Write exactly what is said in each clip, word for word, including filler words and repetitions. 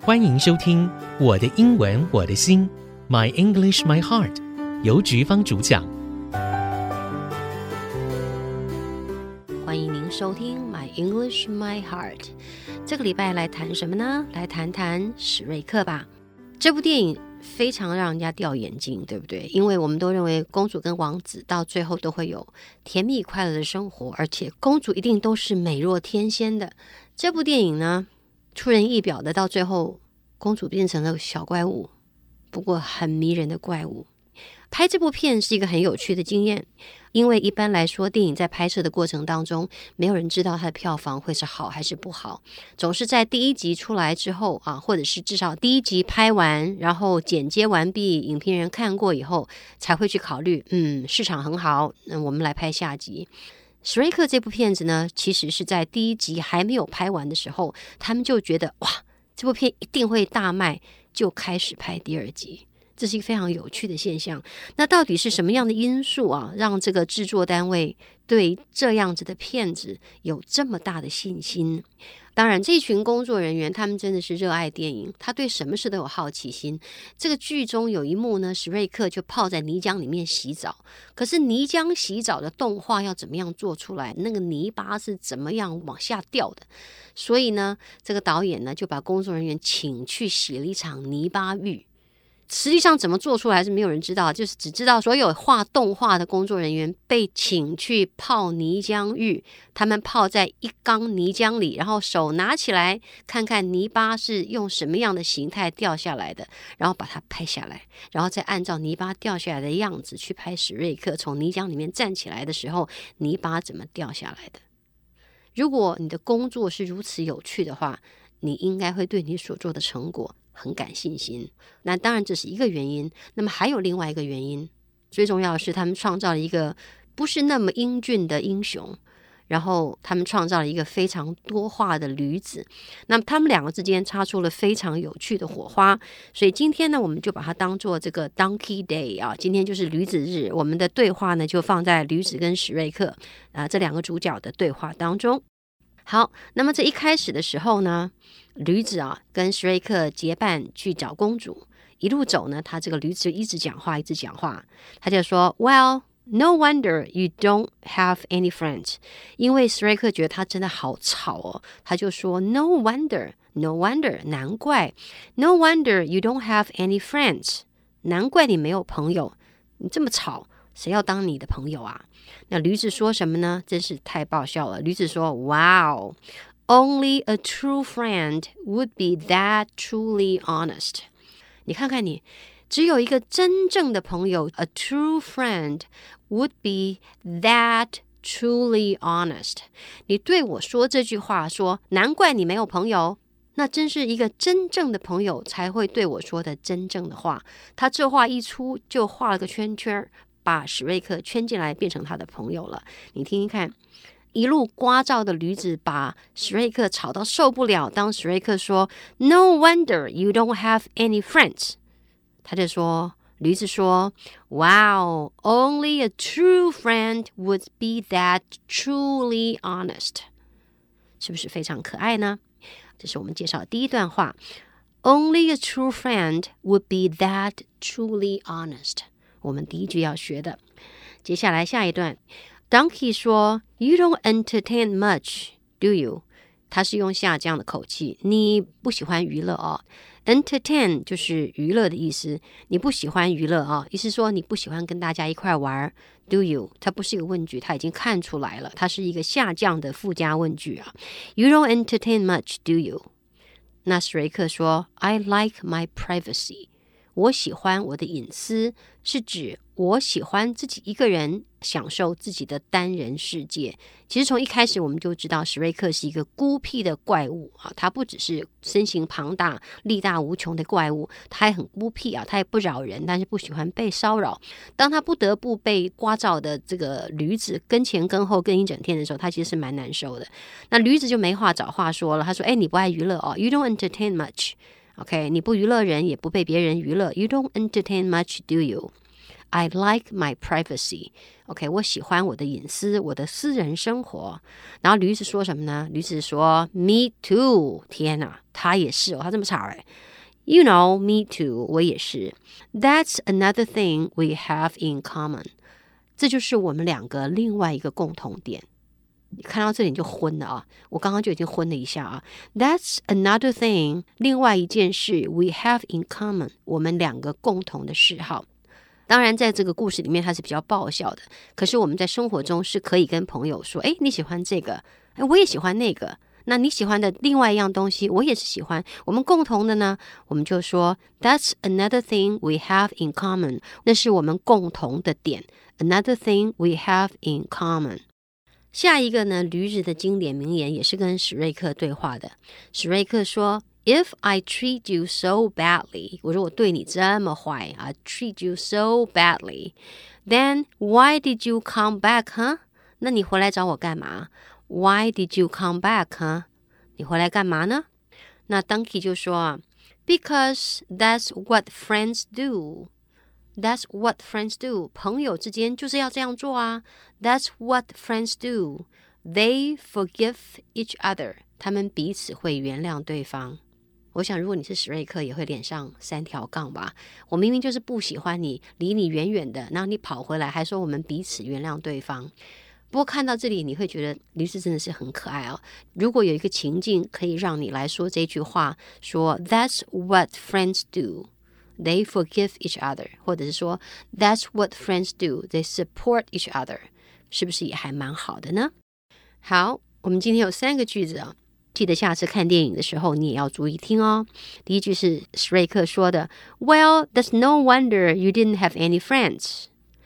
歡迎收聽我的英文我的心 My English My Heart 由菊芳主講。 歡迎您收聽 My English My Heart。這個禮拜來談什麼呢？來談談史瑞克吧。這部電影非常讓人家掉眼鏡，對不對？因為我們都認為公主跟王子到最後都會有甜蜜快樂的生活，而且公主一定都是美若天仙的。這部電影呢，出人意表的，到最後公主變成了小怪物，不過很迷人的怪物。拍這部片是一個很有趣的經驗，因為一般來說電影在拍攝的過程當中，沒有人知道它的票房會是好還是不好，總是在第一集出來之後啊，或者是至少第一集拍完，然後剪接完畢，影評人看過以後才會去考慮，嗯，市場很好，那我們來拍下集。史瑞克這部片子呢，其實是在第一集還沒有拍完的時候，他們就覺得哇，這部片一定會大賣，就開始拍第二集。這是一個非常有趣的現象。那到底是什麼樣的因素啊，讓這個製作單位對這樣子的片子有這麼大的信心？當然，這群工作人員他們真的是熱愛電影，他對什麼事都有好奇心。這個劇中有一幕呢，史瑞克就泡在泥漿裡面洗澡。可是泥漿洗澡的動畫要怎麼樣做出來？那個泥巴是怎麼樣往下掉的？所以呢，這個導演呢就把工作人員請去洗了一場泥巴浴。實際上怎麼做出來是沒有人知道，就是只知道所有畫動畫的工作人員被請去泡泥漿浴，他們泡在一缸泥漿裡，然後手拿起來看看泥巴是用什麼樣的形態掉下來的，然後把它拍下來，然後再按照泥巴掉下來的樣子去拍史瑞克從泥漿裡面站起來的時候，泥巴怎麼掉下來的。如果你的工作是如此有趣的話，你應該會對你所做的成果很感信心。那當然這是一個原因，那麼還有另外一個原因，最重要的是他們創造了一個不是那麼英俊的英雄，然後他們創造了一個非常多話的驢子，那麼他們兩個之間擦出了非常有趣的火花。所以今天呢，我們就把它當做這個 Donkey Day 啊，今天就是驢子日，我們的對話呢就放在驢子跟史瑞克啊這兩個主角的對話當中。好，那麼這一開始的時候呢，驢子啊跟史瑞克結伴去找公主，一路走呢，他這個驢子就一直講話，一直講話，他就說 Well, no wonder you don't have any friends。 因為史瑞克覺得他真的好吵哦，他就說 No wonder, no wonder， 難怪 No wonder you don't have any friends， 難怪你沒有朋友，你這麼吵，誰要當你的朋友啊？那驢子說什麼呢？真是太爆笑了。驢子說 Wow, only a true friend would be that truly honest。 你看看你，只有一個真正的朋友 A true friend would be that truly honest。 你對我說這句話，說難怪你沒有朋友，那真是一個真正的朋友才會對我說的真正的話。他這話一出就畫了個圈圈，把史瑞克圈進來，變成他的朋友了。你聽聽看，一路聒噪的驢子把史瑞克吵到受不了。當史瑞克說 No wonder you don't have any friends， 他就說，驢子說 Wow, only a true friend would be that truly honest。 是不是非常可愛呢？這是我們介紹的第一段話， Only a true friend would be that truly honest。我們第一句要學的。接下來下一段 Donkey 說 You don't entertain much, do you？ 他是用下降的口氣，你不喜歡娛樂哦。 Entertain 就是娛樂的意思，你不喜歡娛樂哦，意思說你不喜歡跟大家一塊玩。 Do you？ 它不是一個問句，它已經看出來了，它是一個下降的附加問句啊。 You don't entertain much, do you？ 那史瑞克說 I like my privacy，我喜歡我的隱私，是指我喜歡自己一個人享受自己的單人世界。其實從一開始我們就知道史瑞克是一個孤僻的怪物啊，他不只是身形龐大力大無窮的怪物，他還很孤僻啊，他也不擾人，但是不喜歡被騷擾。當他不得不被聒噪的這個驢子跟前跟後跟一整天的時候，他其實是蠻難受的。那驢子就沒話找話說了，他說哎，你不愛娛樂哦， You don't entertain much。OK， 你不娛樂人，也不被別人娛樂。You don't entertain much, do you? I like my privacy. OK， 我喜歡我的隱私，我的私人生活。然後驢子說什麼呢？驢子說 Me too。天哪，他也是哦，他這麼吵哎。You know, me too， 我也是。That's another thing we have in common。這就是我們兩個另外一個共同點。你看到這裡你就昏了啊！我剛剛就已經昏了一下啊。That's another thing， 另外一件事 we have in common， 我們兩個共同的嗜好。當然在這個故事裡面它是比較爆笑的，可是我們在生活中是可以跟朋友說，誒，你喜歡這個，誒，我也喜歡那個，那你喜歡的另外一樣東西我也是喜歡，我們共同的呢，我們就說 That's another thing we have in common， 那是我們共同的點。 Another thing we have in common。 下一個呢，驢子的經典名言也是跟史瑞克對話的。史瑞克說If I treat you so badly， 我說我對你這麼壞 I treat you so badly, then why did you come back, huh? 那你回來找我幹嘛？ Why did you come back, huh? 你回來幹嘛呢？那 Donkey 就說 Because that's what friends do. That's what friends do. 朋友之間就是要這樣做啊。That's what friends do. They forgive each other. 他們彼此會原諒對方。我想如果你是史瑞克也會臉上三條槓吧。我明明就是不喜歡你，離你遠遠的，然後你跑回來還說我們彼此原諒對方。不過看到這裡你會覺得驢子真的是很可愛哦。如果有一個情境可以讓你來說這句話，說 That's what friends do, they forgive each other， 或者是說 That's what friends do, they support each other， 是不是也還蠻好的呢？好，我們今天有三個句子啊。記得下次看電影的時候你也要注意聽哦。第一句是史瑞克說的 Well, that's no wonder you didn't have any friends.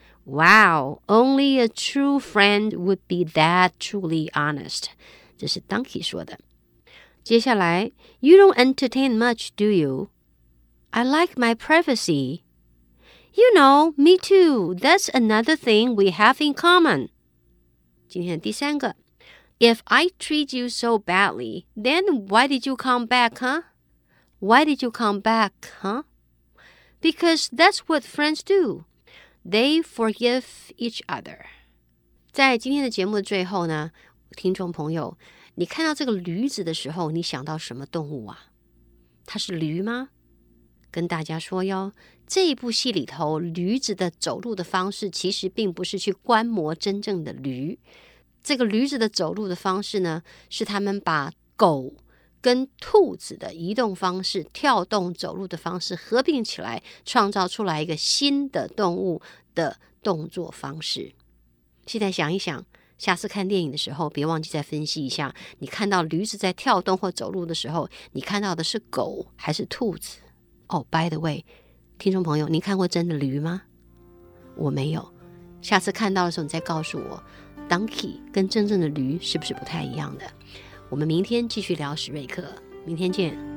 Wow, only a true friend would be that truly honest. 這是 Donkey 說的。接下來 You don't entertain much, do you? I like my privacy. You know, me too. That's another thing we have in common. 今天的第三個If I treat you so badly, then why did you come back, huh? Why did you come back, huh? Because that's what friends do. They forgive each other. 在今天的節目的最後呢，聽眾朋友，你看到這個驢子的時候，你想到什麼動物啊？它是驢嗎？跟大家說喲，這一部戲裡頭，驢子的走路的方式其實並不是去觀摩真正的驢。這個驢子的走路的方式呢，是他們把狗跟兔子的移動方式、跳動走路的方式合併起來，創造出來一個新的動物的動作方式。現在想一想，下次看電影的時候，別忘記再分析一下，你看到驢子在跳動或走路的時候，你看到的是狗還是兔子？哦、oh, by the way， 聽眾朋友，你看過真的驢嗎？我沒有。下次看到的時候，你再告訴我。Donkey 跟真正的驢是不是不太一樣的？我們明天繼續聊史瑞克，明天見。